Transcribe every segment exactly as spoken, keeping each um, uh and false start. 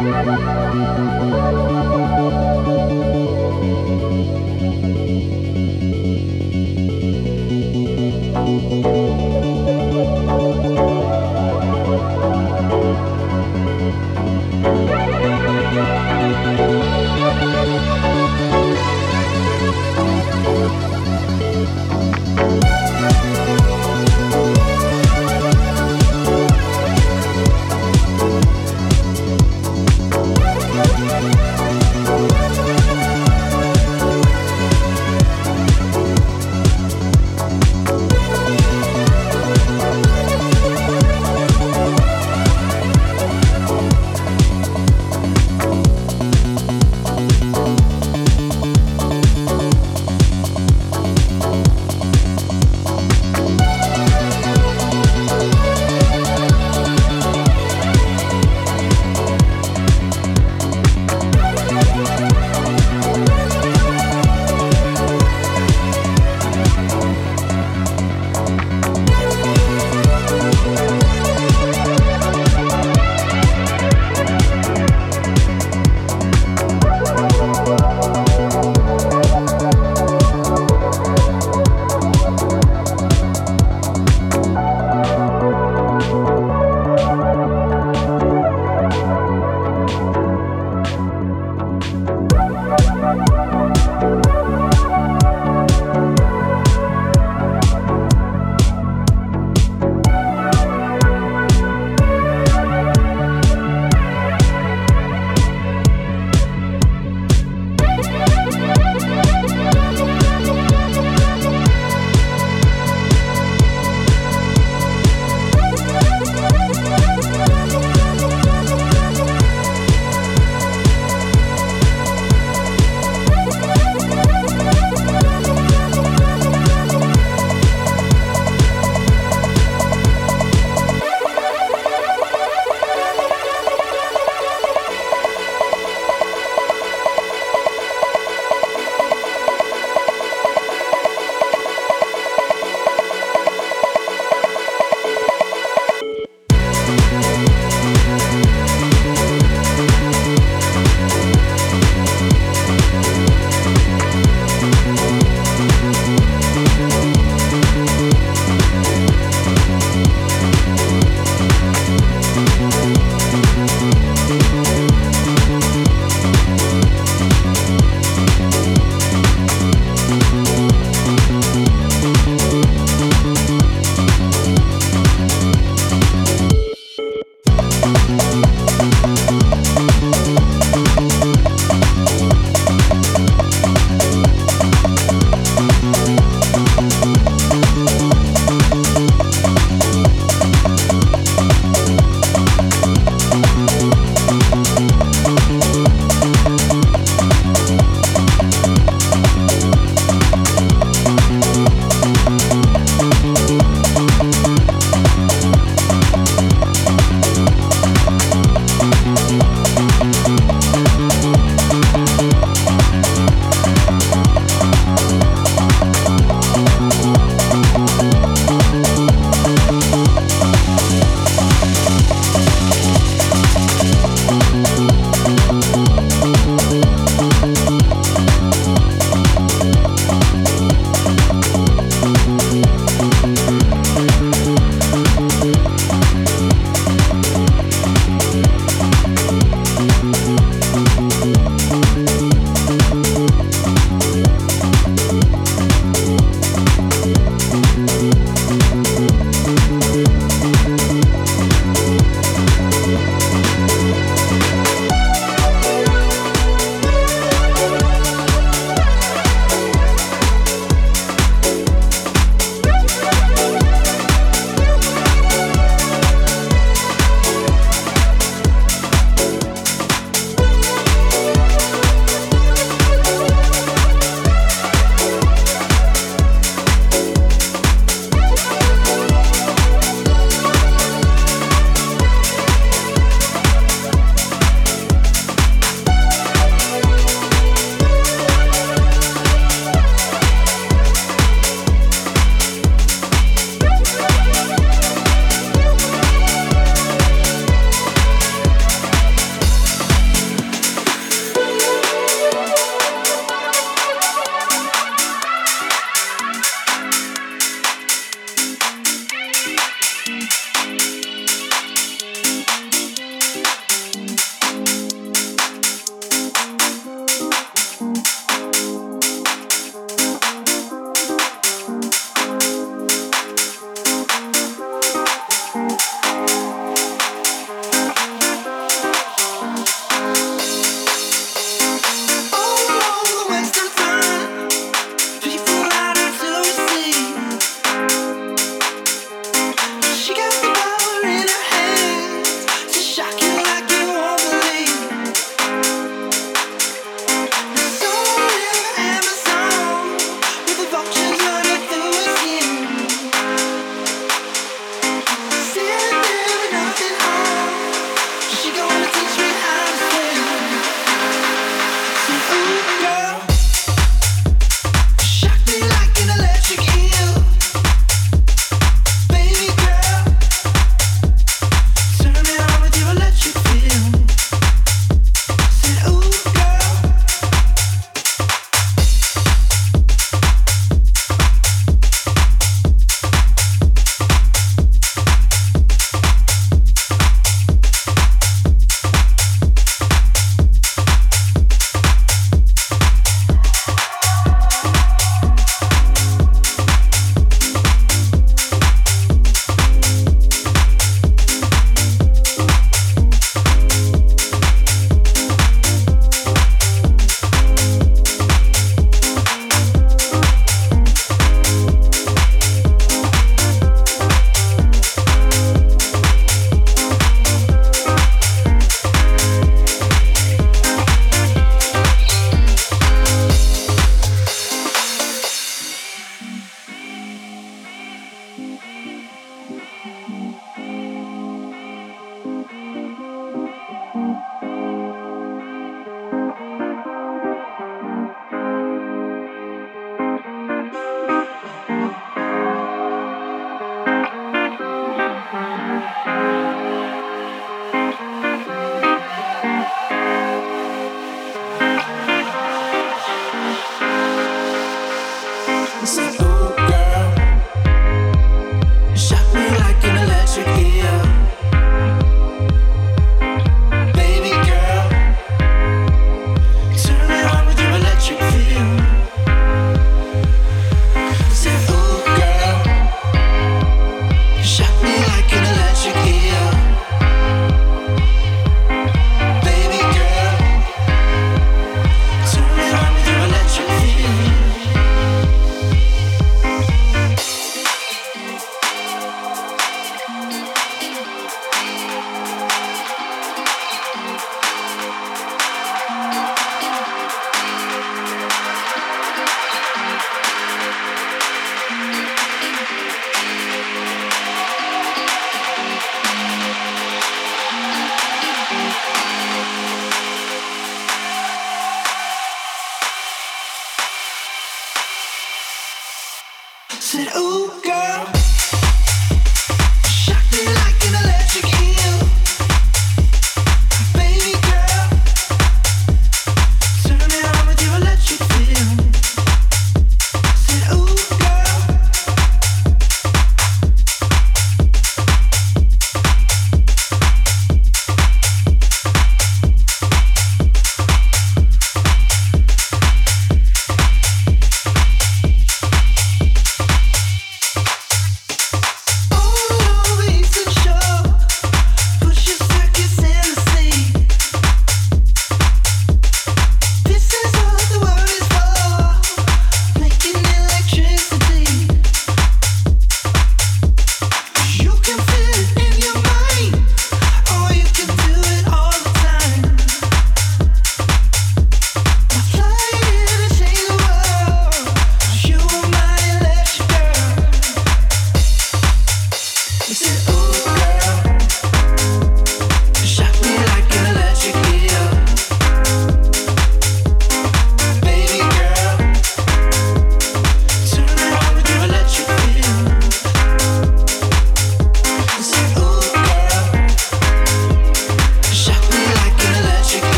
We'll be right back.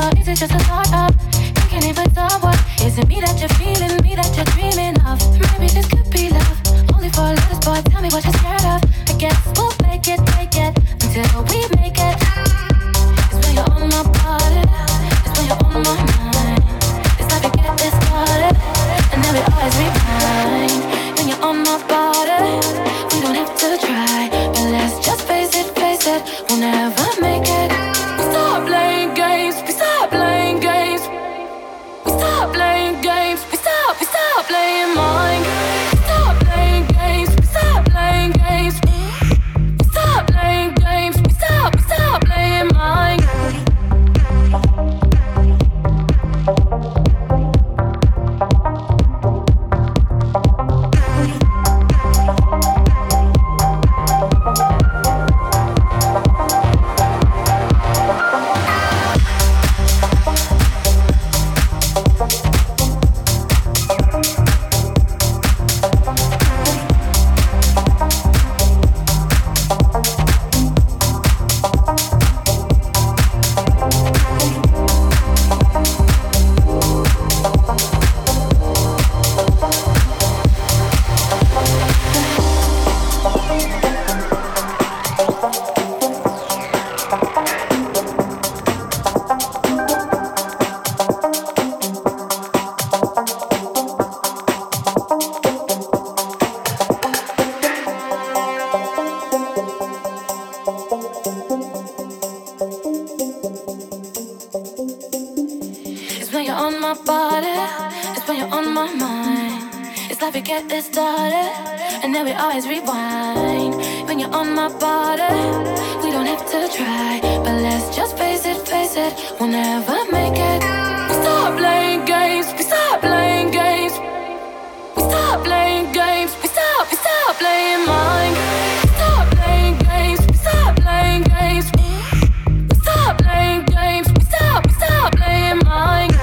or is it just a thought of thinking if it's all what? Is it me that you're feeling, me that you're dreaming of? Maybe this could be love, only for a little spot. Tell me what you're scared of. I guess we'll make it, take it until we make it. It's when you're on my body, it's when you're on my mind. It's like we get this started, and then we always rewind. When you're on my body, we don't have to try, but let's just face it, face it, we'll never make it. We stop playing games, we stop playing games. We stop playing games, we stop, we stop playing mind games. We stop playing games, we stop playing games. We stop playing games, we stop, we stop playing mind games. Get this started, and then we always rewind. When you're on my body, we don't have to try, but let's just face it, face it, we'll never make it. We stop playing games, we stop playing games. We stop playing games, we stop, we stop playing mind games. We stop playing games, we stop playing games. We stop playing games, we stop, we stop playing mind games.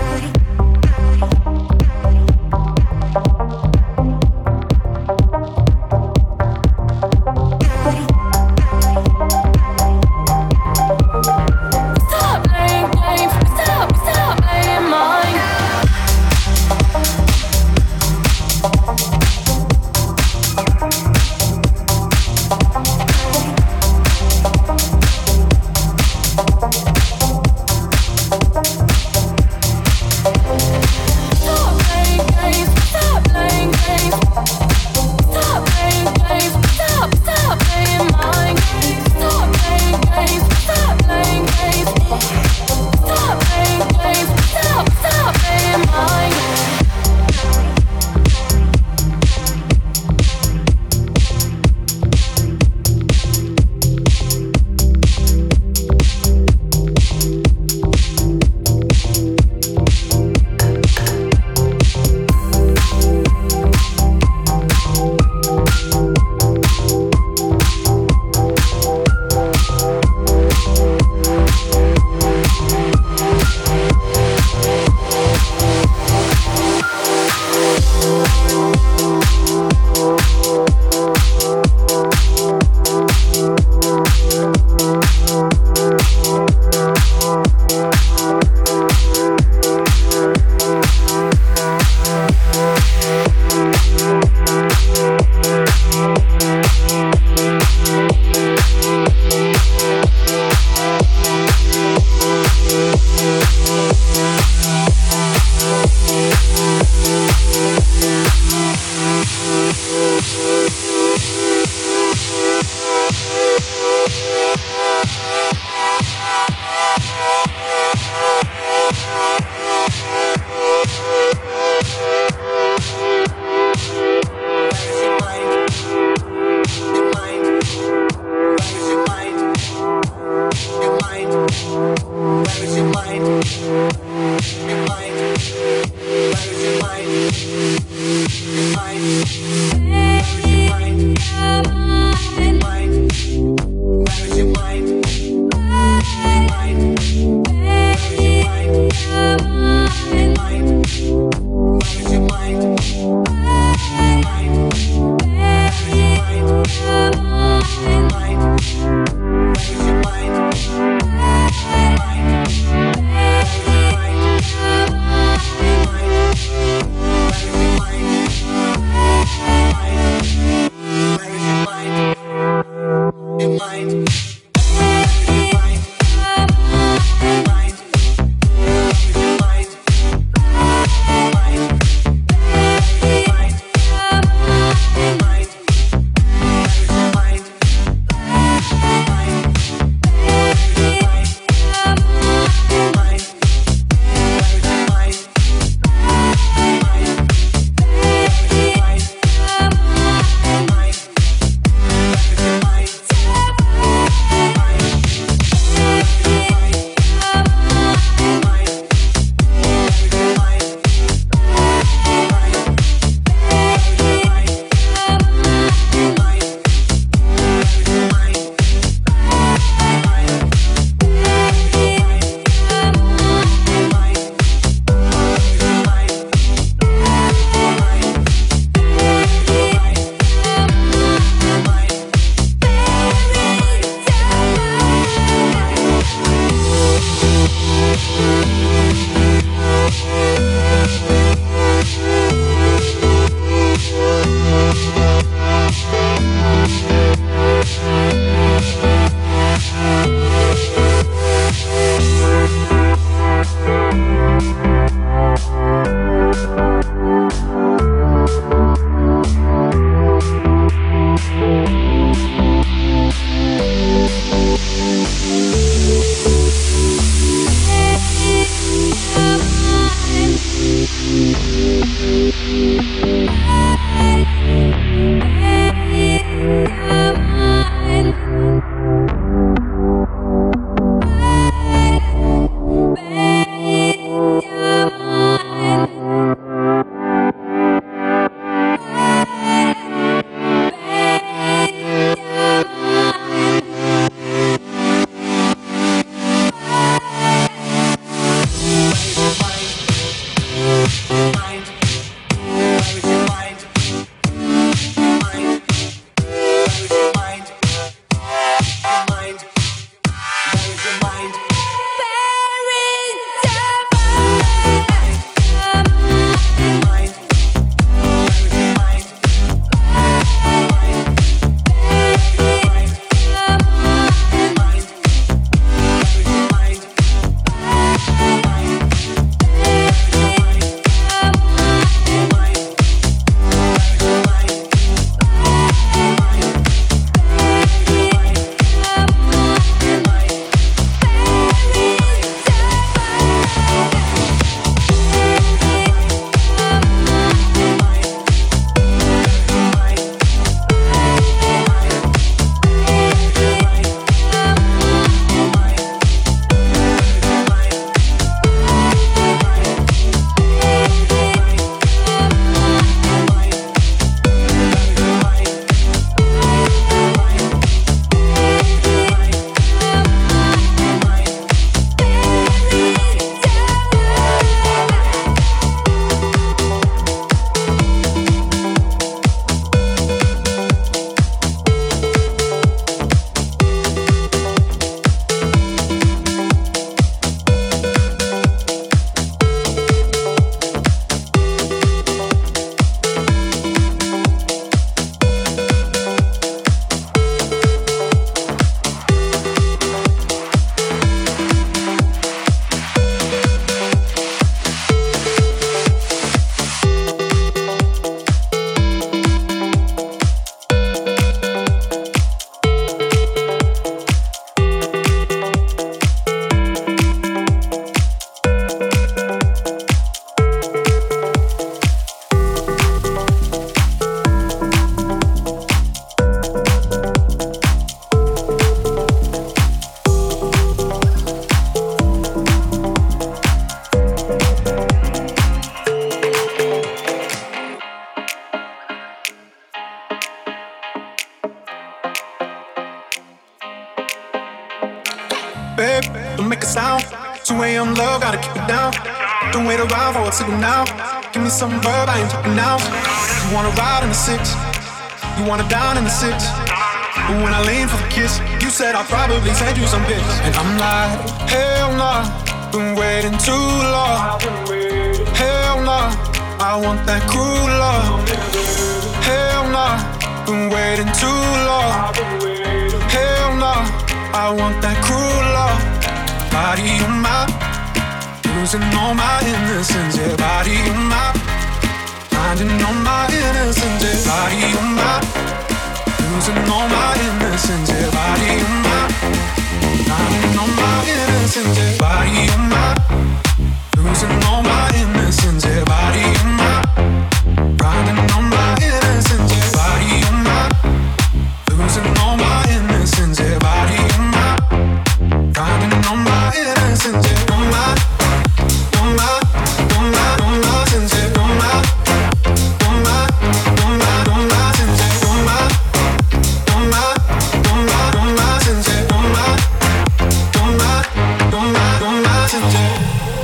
Babe, don't make a sound. two a.m. love, gotta keep it down. Don't wait around for a signal now. Give me some verb, I ain't talking now. You wanna ride in the six, you wanna down in the six. But when I lean for the kiss, you said I'll probably send you some pics. And I'm like, hell nah, been waiting too long. Hell nah, I want that cruel love. Hell nah, been waiting too long. Hell nah, I want that cruel love. Body on my, losing all my innocence. Yeah, body on my, finding all my innocence. Yeah, body on my, losing all my innocence. Yeah, body on my, finding all my innocence. Yeah, body on my, losing all my innocence. Yeah, body on my, finding all my innocence. Yeah, body on my, losing all my innocence. Yeah, body on my, finding all my innocence. Yeah, on my, on my, on my, on my sense. Yeah, on my, on my, on my, on my sense. Yeah, on my, on my, on my, on my sense. Yeah, on my, on my, on my, on my sense. Yeah.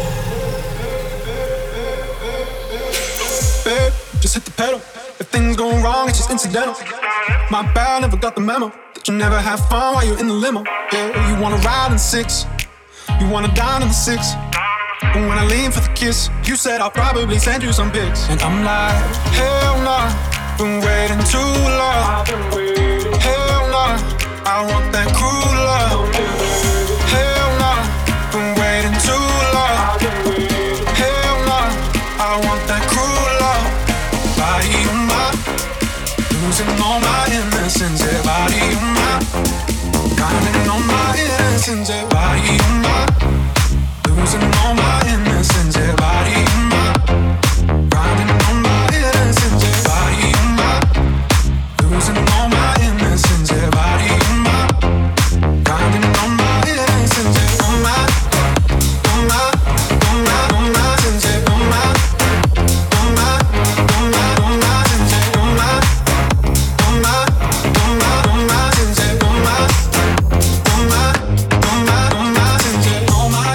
Babe, just hit the pedal. If things go wrong, it's just incidental. My bad, never got the memo that you never have fun while you're in the limo. Yeah, you wanna ride in six, you wanna dine in the six. But when I lean for the kiss, you said I'll probably send you some pics. And I'm like, hell nah, been waiting too long. Hell nah, I want that cruel love. Hell nah, been waiting too long. Hell nah, I want that cruel love. Body on my, losing all my innocence. Yeah, body on my, finding all my innocence. Yeah, body on my, losing all my innocence. Yeah, body on my, finding all my innocence. Yeah, body on my, losing all my innocence. Yeah, body on my, finding all my innocence. Yeah, on my, on my, on my, on my sense. Yeah, on my, on my, on my, on my sense. Yeah, on my, on my, on my, on my sense. Yeah, on my, on my, on my, on my sense. Yeah, on my.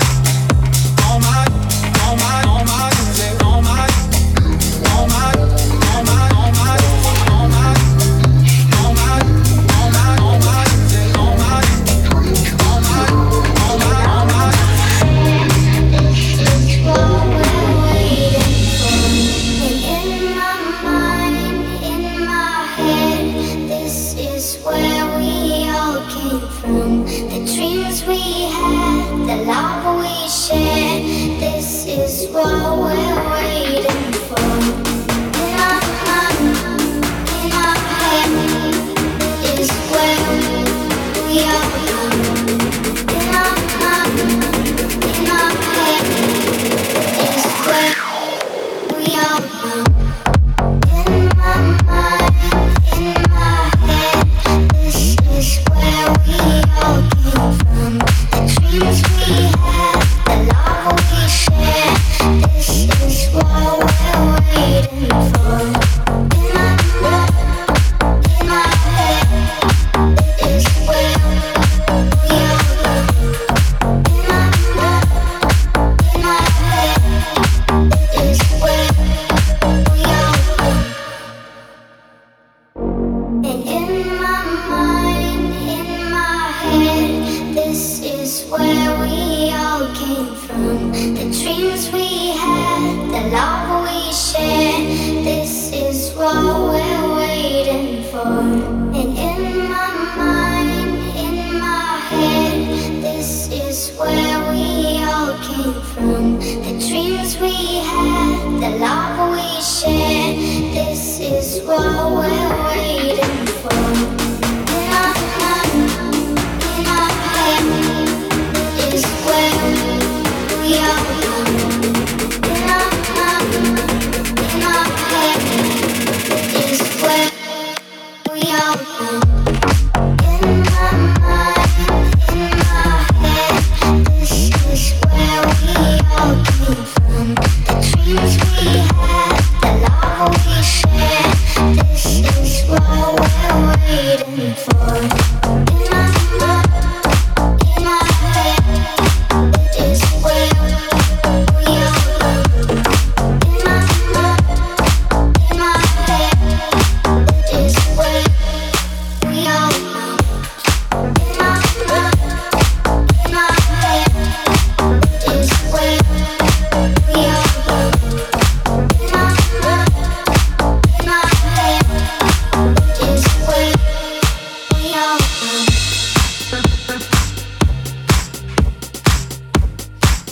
We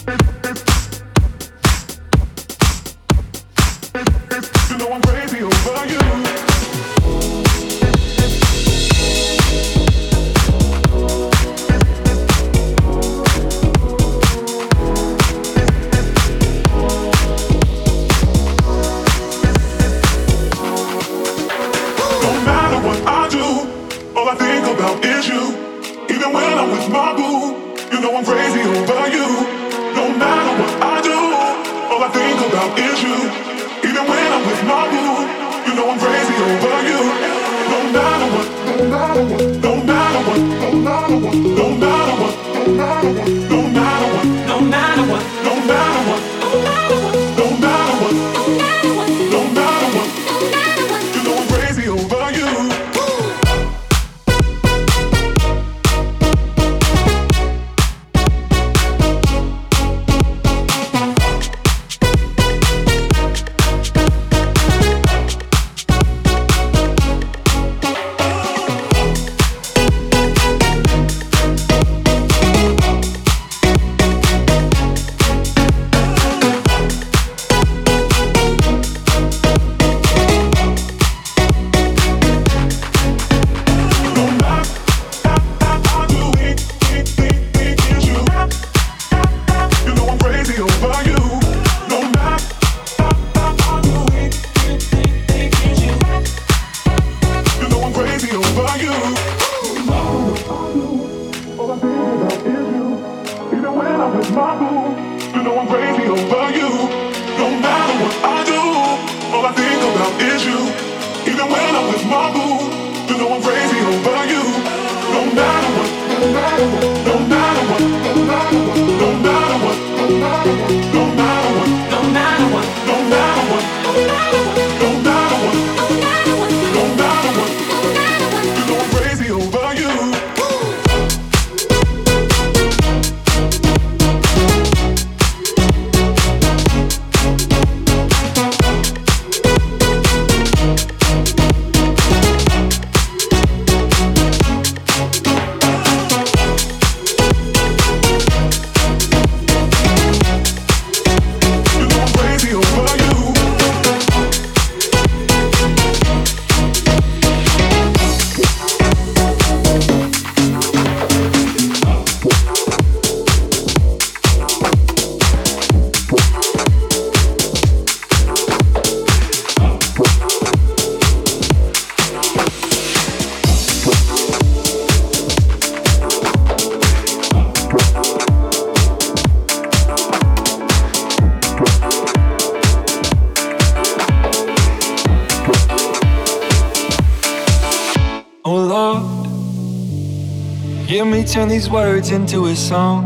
Turn these words into a song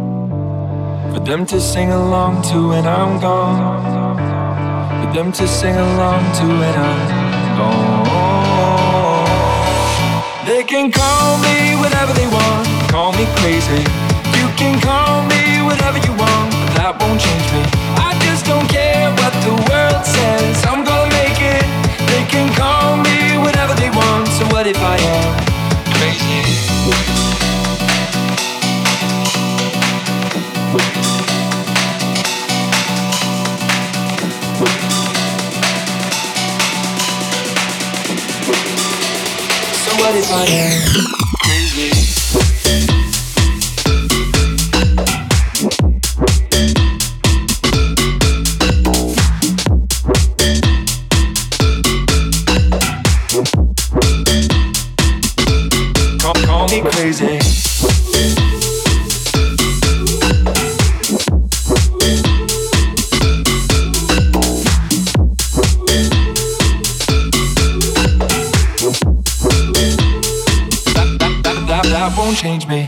for them to sing along to when I'm gone, for them to sing along to when I'm gone. They can call me whatever they want, call me crazy. You can call me whatever you want, but that won't change me. I just don't care what the world says, I'm gonna make it. They can call me whatever they want, so what if I am crazy? What if I am crazy? Call, call me crazy. That won't change me.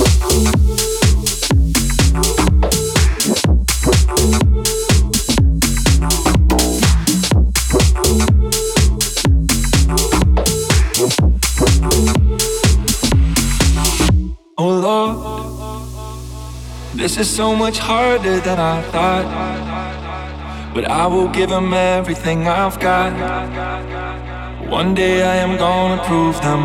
Oh Lord, this is so much harder than I thought, but I will give them everything I've got. One day I am gonna prove them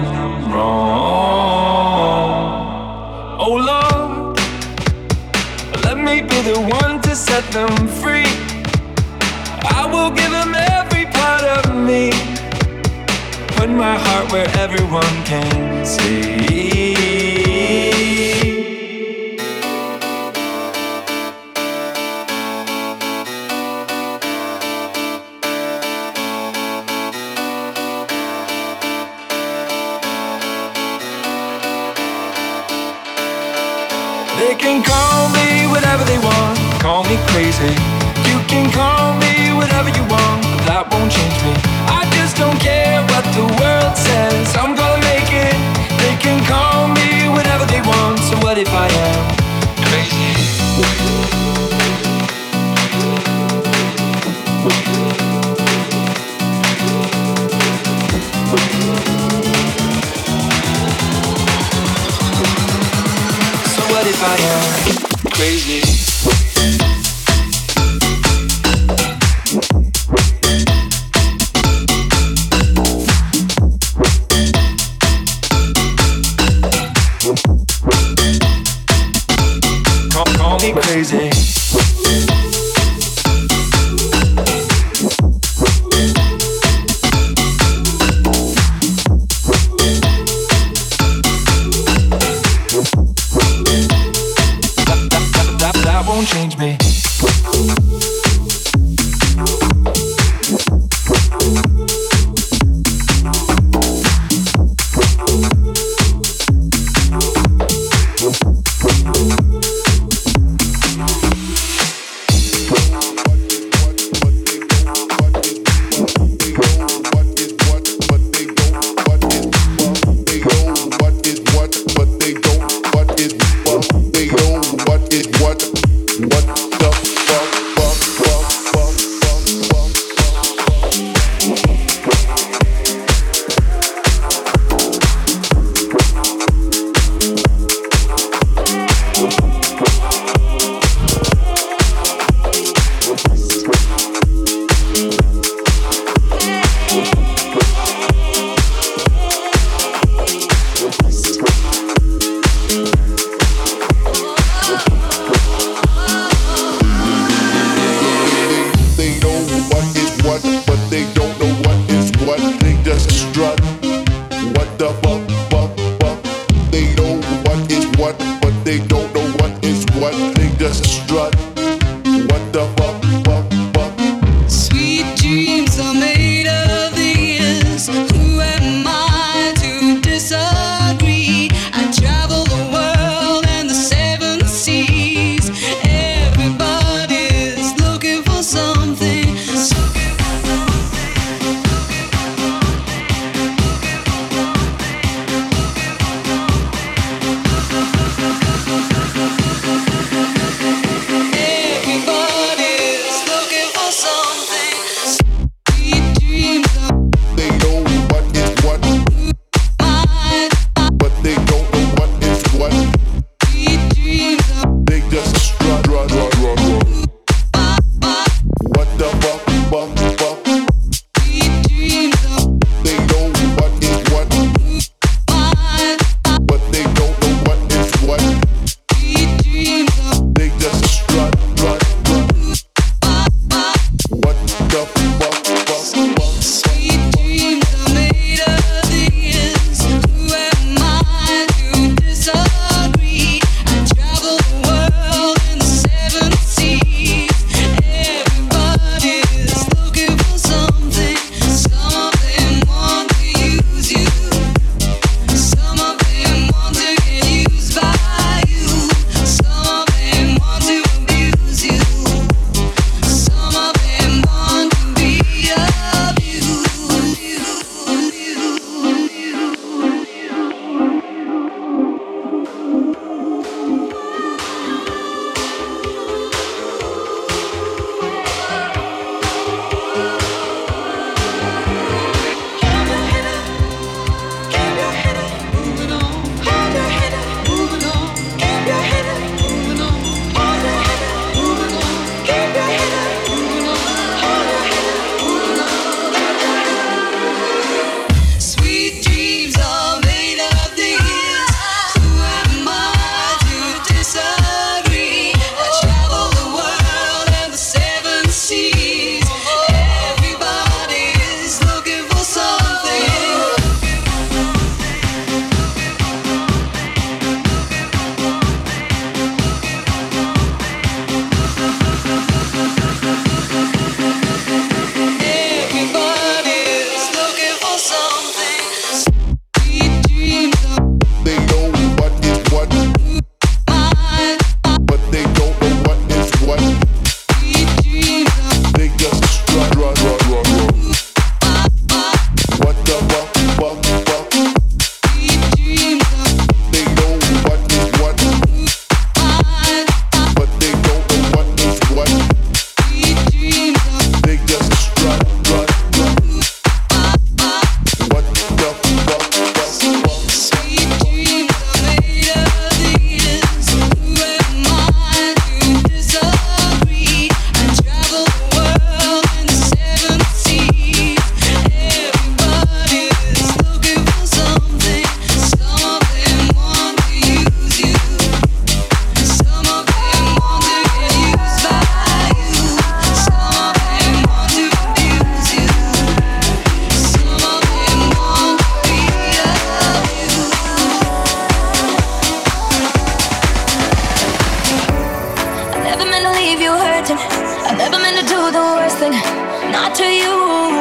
wrong. Oh Lord, let me be the one to set them free. I will give them every part of me. Put my heart where everyone can see. They can call me whatever they want, call me crazy. You can call me whatever you want, but that won't change me. I just don't care what the world says, I'm gonna make it. They can call me whatever they want, so what if I am crazy? What if I am crazy? Call, call me crazy. Change me. leave you hurting. I never meant to do the worst thing, not to you.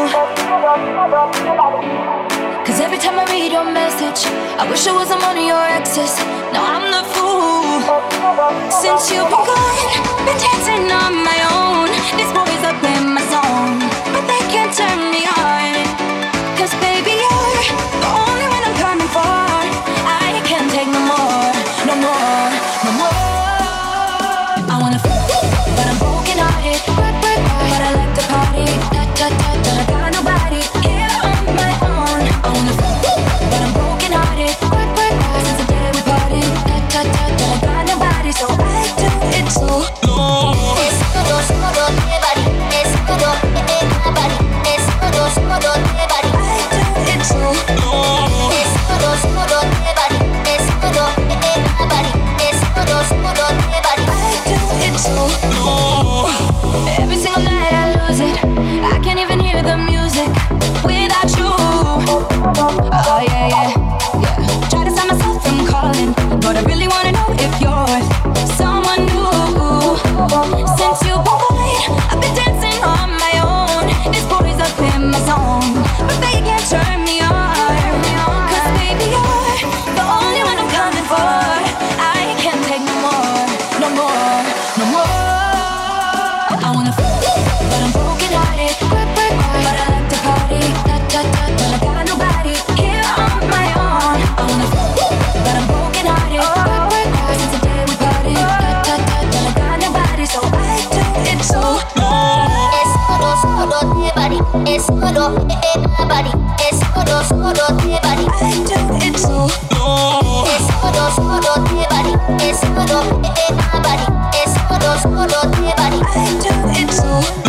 Cause every time I read your message, I wish I wasn't one of your exes. Now I'm the fool. Since you've been gone, been dancing on my own. These boys are playing my song, but they can't turn me on. Cause baby, you're the only one I'm coming for. I can't take no more, no more, no more. I wanna f***, but I'm broken hearted. But I like to party, da da da da. I got nobody here on my own. I wanna f***, but I'm broken hearted. Since the day we parted, da da da da. I got nobody, so I do it too. Es todo, solo de body. Es todo, eh, nobody. Es todo, solo de body. I do it too. Es todo, solo de body. Es todo, eh, nobody. Es todo, solo de body. I do it too. Every single night I lose it. I can't even hear the music without you. Oh yeah, yeah, yeah. Try to stop myself from calling, but I really wanna know if you're someone new. Since you've been gone, I've been dancing on my own. These boys up in my zone, but they can't turn me on. Cause baby, you're the only one I'm coming for. I can't take no more, no more, no more. I wanna f***, but I'm broken hearted. But I like to party, da da da da. I got nobody here on my own. I wanna f***, but I'm broken hearted. Since the day we parted, da da da da. I got nobody, so I do it too. Es solo, solo de body. Es solo, eh, nobody. Es solo, solo de body. I do it too. Es solo, solo de body. Es solo, eh, nobody. Es solo, solo de body. I do it too.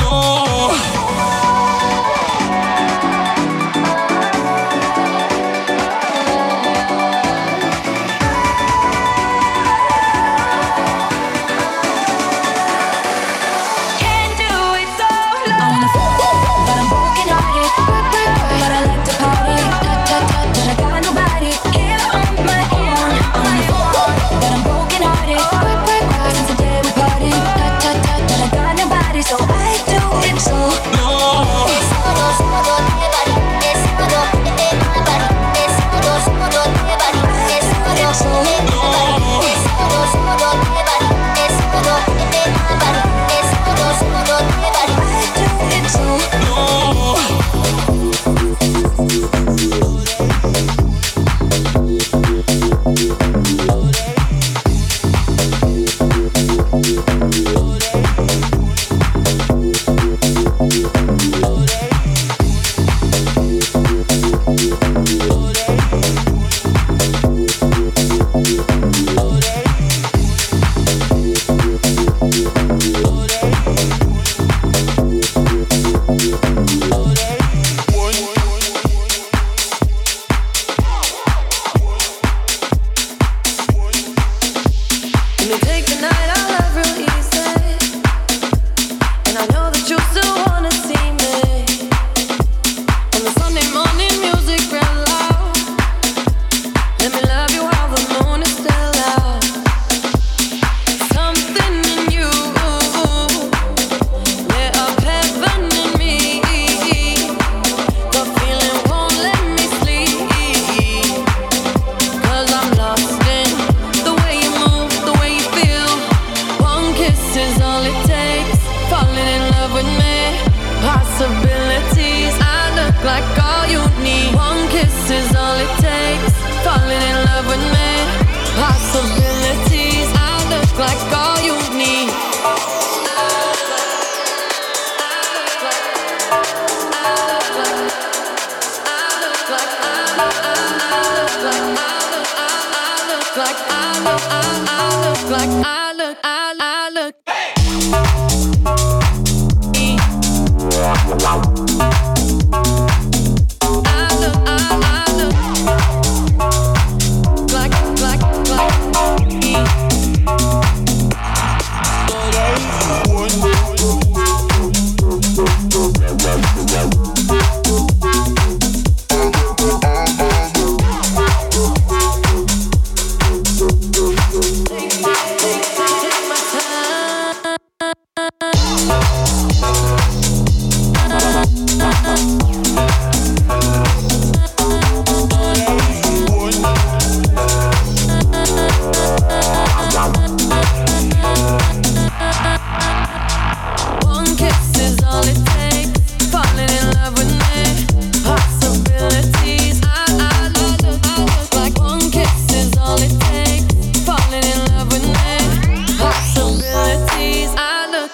So I do it too. Es solo, solo de body. Es solo, eh, nobody. Es solo, solo de body. Es solo, eh, nobody. Es solo, solo de body. Es solo, eh, nobody. Es solo, solo de body. I do it too.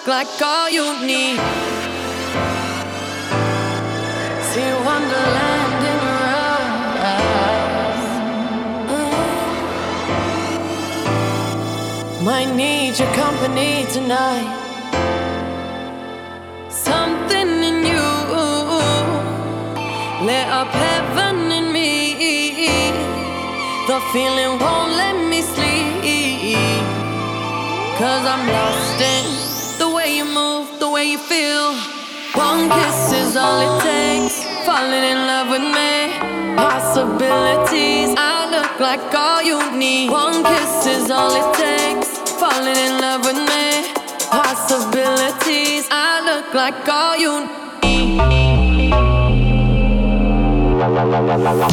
look like all you need. See Wonderland in your eyes. Mm. Might need your company tonight. Something in you lit up heaven in me. The feeling won't let me sleep, 'cause I'm lost in the way you move, the way you feel. One kiss is all it takes, falling in love with me. Possibilities, I look like all you need. One kiss is all it takes, falling in love with me. Possibilities, I look like all you need. La la la la la la.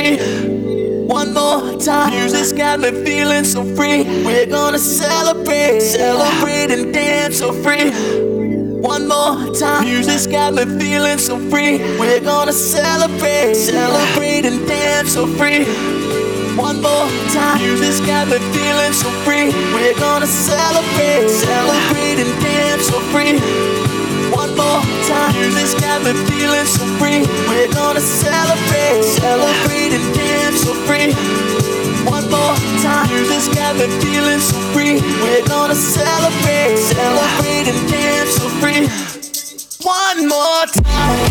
free. One more time, music's got me feeling so free. We're gonna celebrate, celebrate and dance so free. One more time, music's got me feeling so free. We're gonna celebrate, celebrate and dance so free. One more time, music's got me feeling so free. We're gonna celebrate, celebrate and dance so free. One more time, music's got me feeling so free. We're gonna celebrate, celebrate and dance so free. One more time, music's got me feeling so free. We're gonna celebrate, celebrate and dance so free. One more time.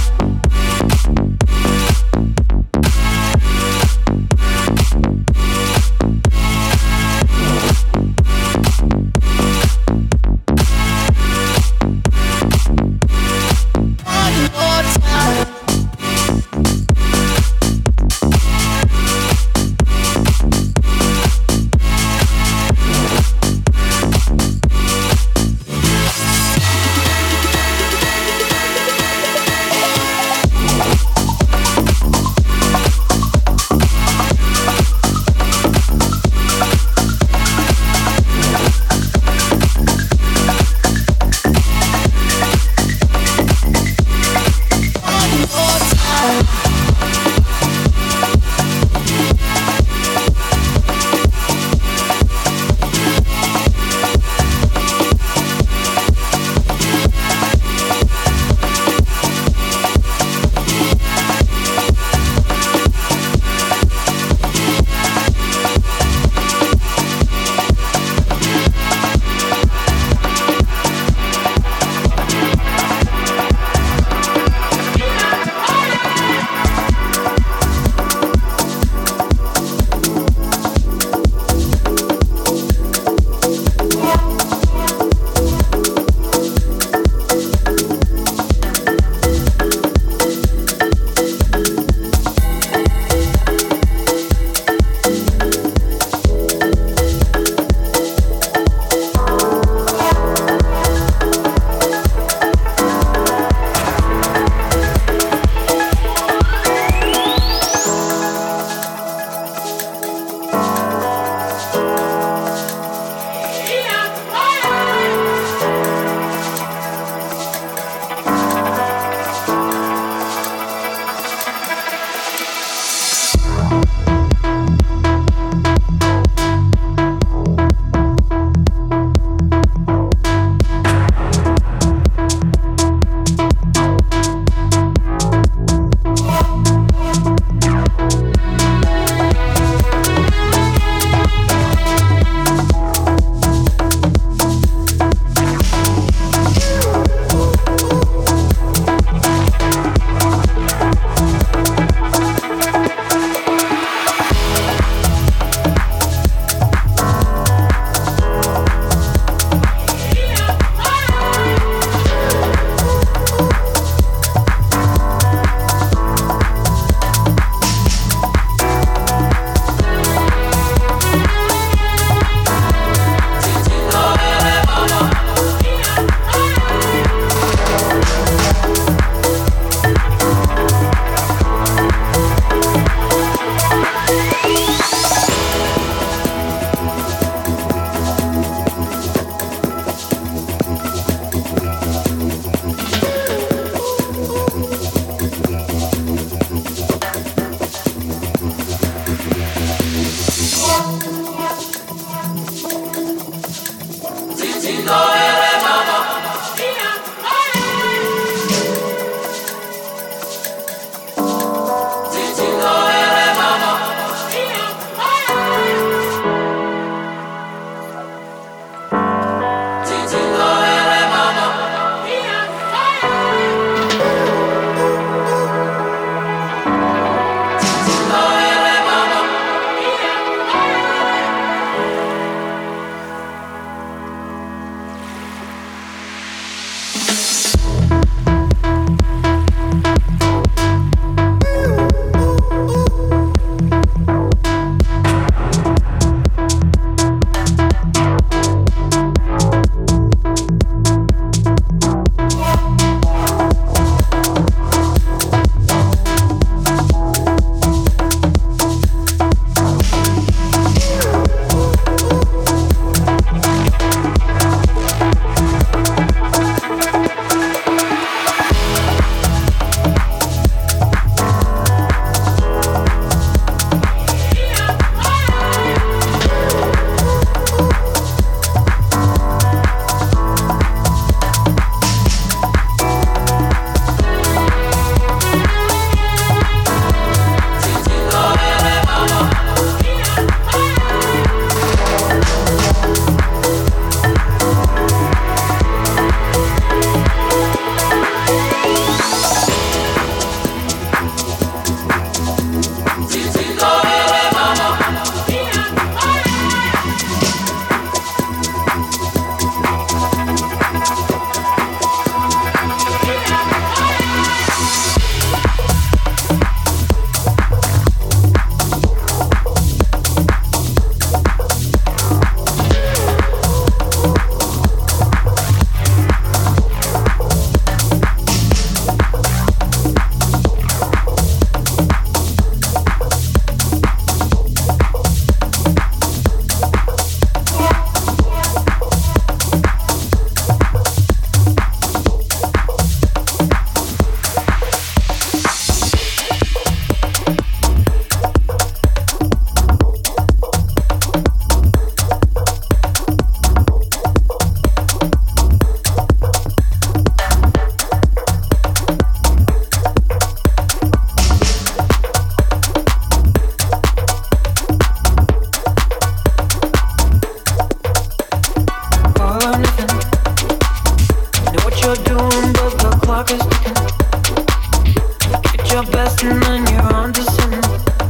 is ticking. Give it your best and then you're on to something.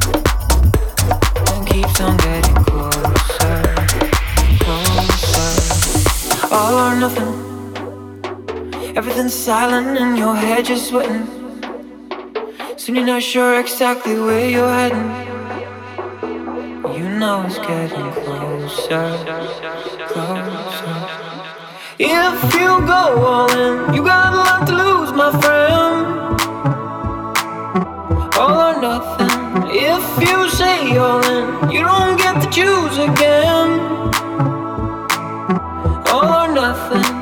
And keeps on getting closer, closer. All or nothing. Everything's silent and your head just sweating. Soon you're not sure exactly where you're heading. You know it's getting closer, closer. If you go all in, you got a lot to lose, my friend. All or nothing. If you say all in, you don't get to choose again. All or nothing.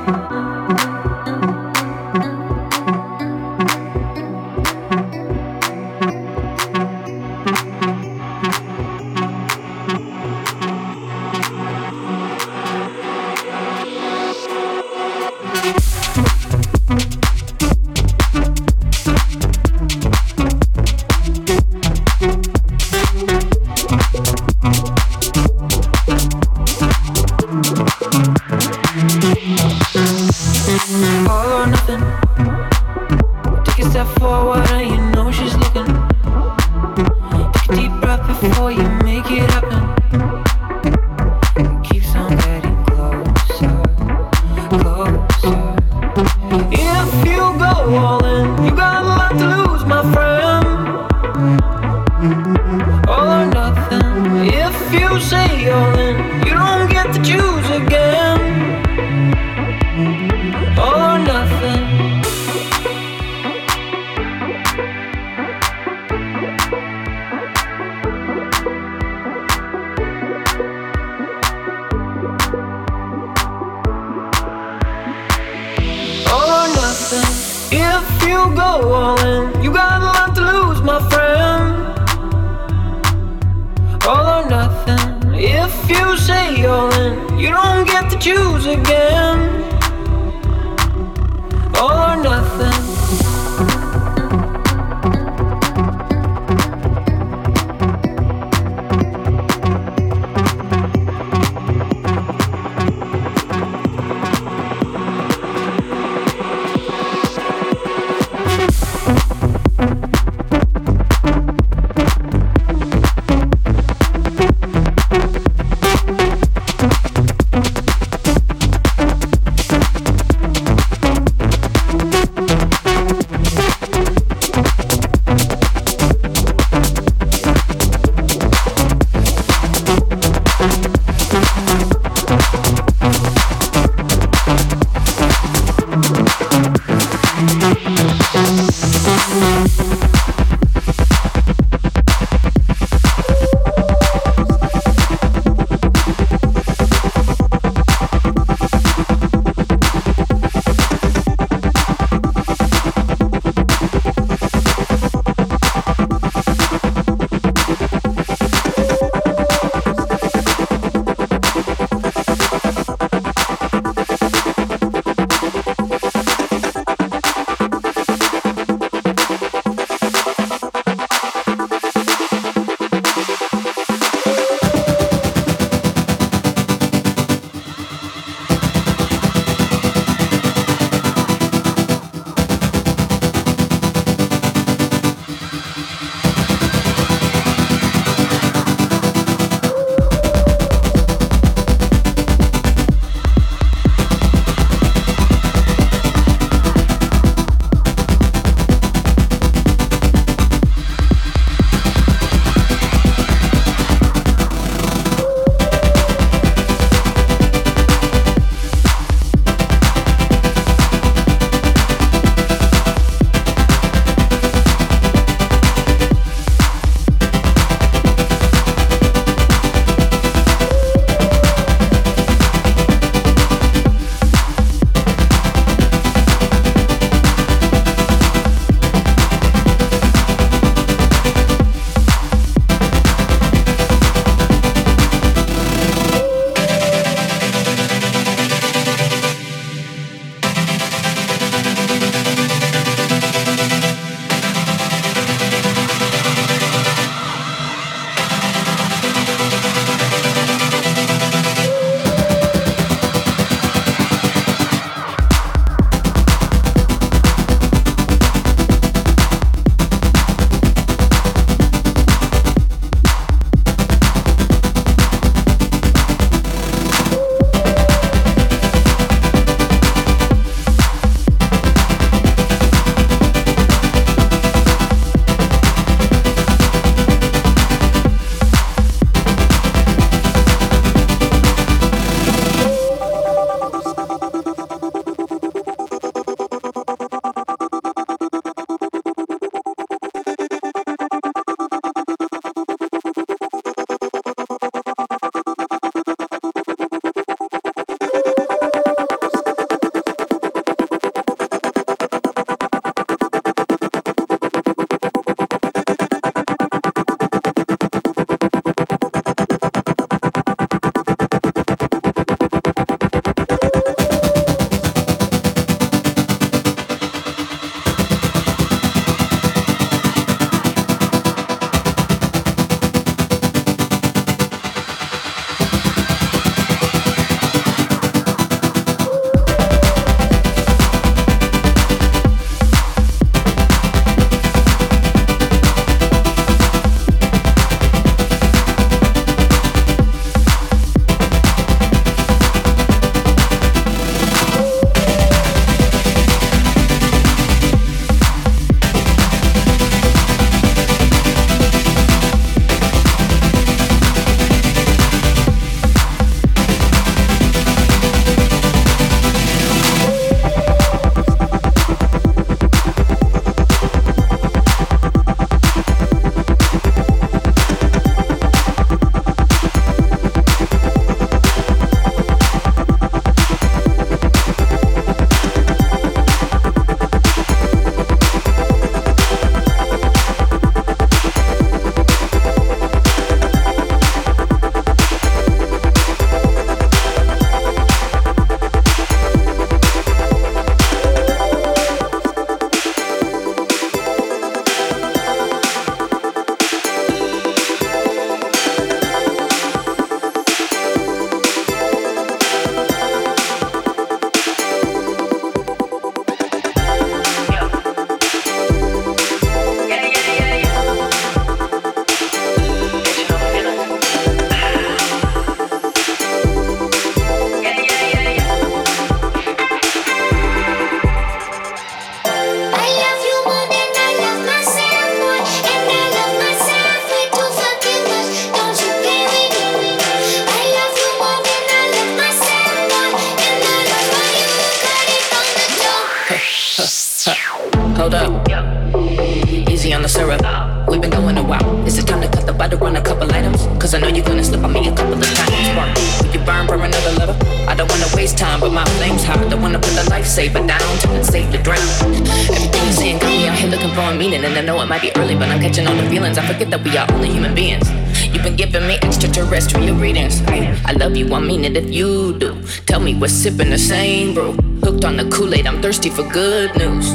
to run a couple items, cause I know you're gonna slip on me a couple of times. Spark, will you burn for another level? I don't wanna waste time, but my flame's hot. Don't wanna put the lifesaver down till it's safe to drown. Everything you're saying got me out here looking for a meaning, and I know it might be early, but I'm catching all the feelings. I forget that we are only human beings. You've been giving me extraterrestrial readings. I, I love you, I mean it if you do. Tell me we're sipping the same brew. Hooked on the Kool-Aid, I'm thirsty for good news.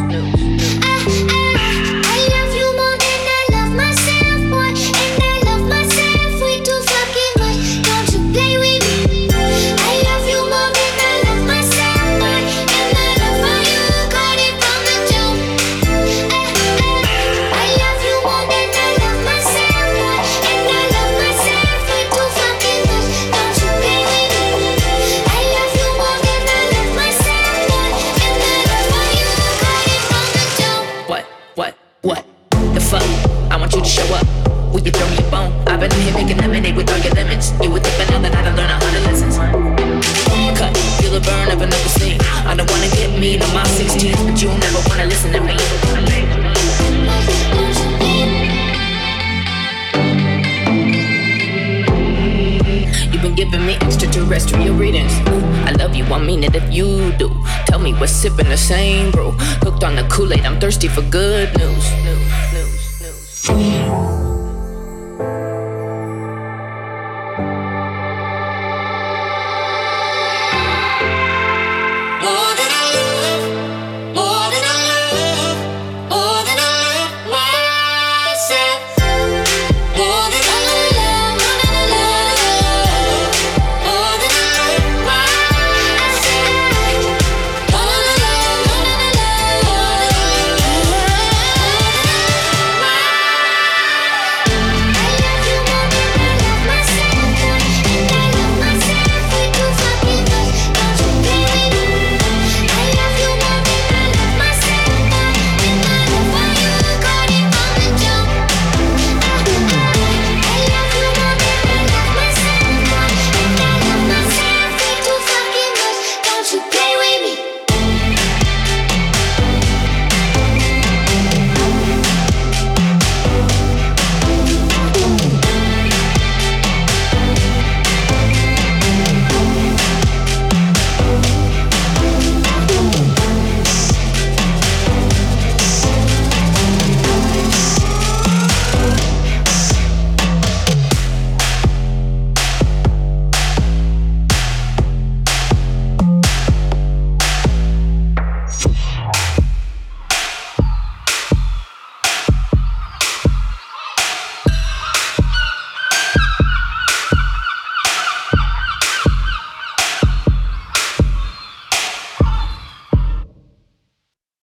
Making lemonade with all your lemons. You would think by now that I done learned a hundred lessons. Cut, feel the burn of another scene. I don't wanna get mean on my sixteenth, but you'll never wanna listen to me. You've been giving me extraterrestrial readings. I love you, I mean it if you do. Tell me we're sipping the same brew. Hooked on the Kool-Aid, I'm thirsty for good news. News, news, news.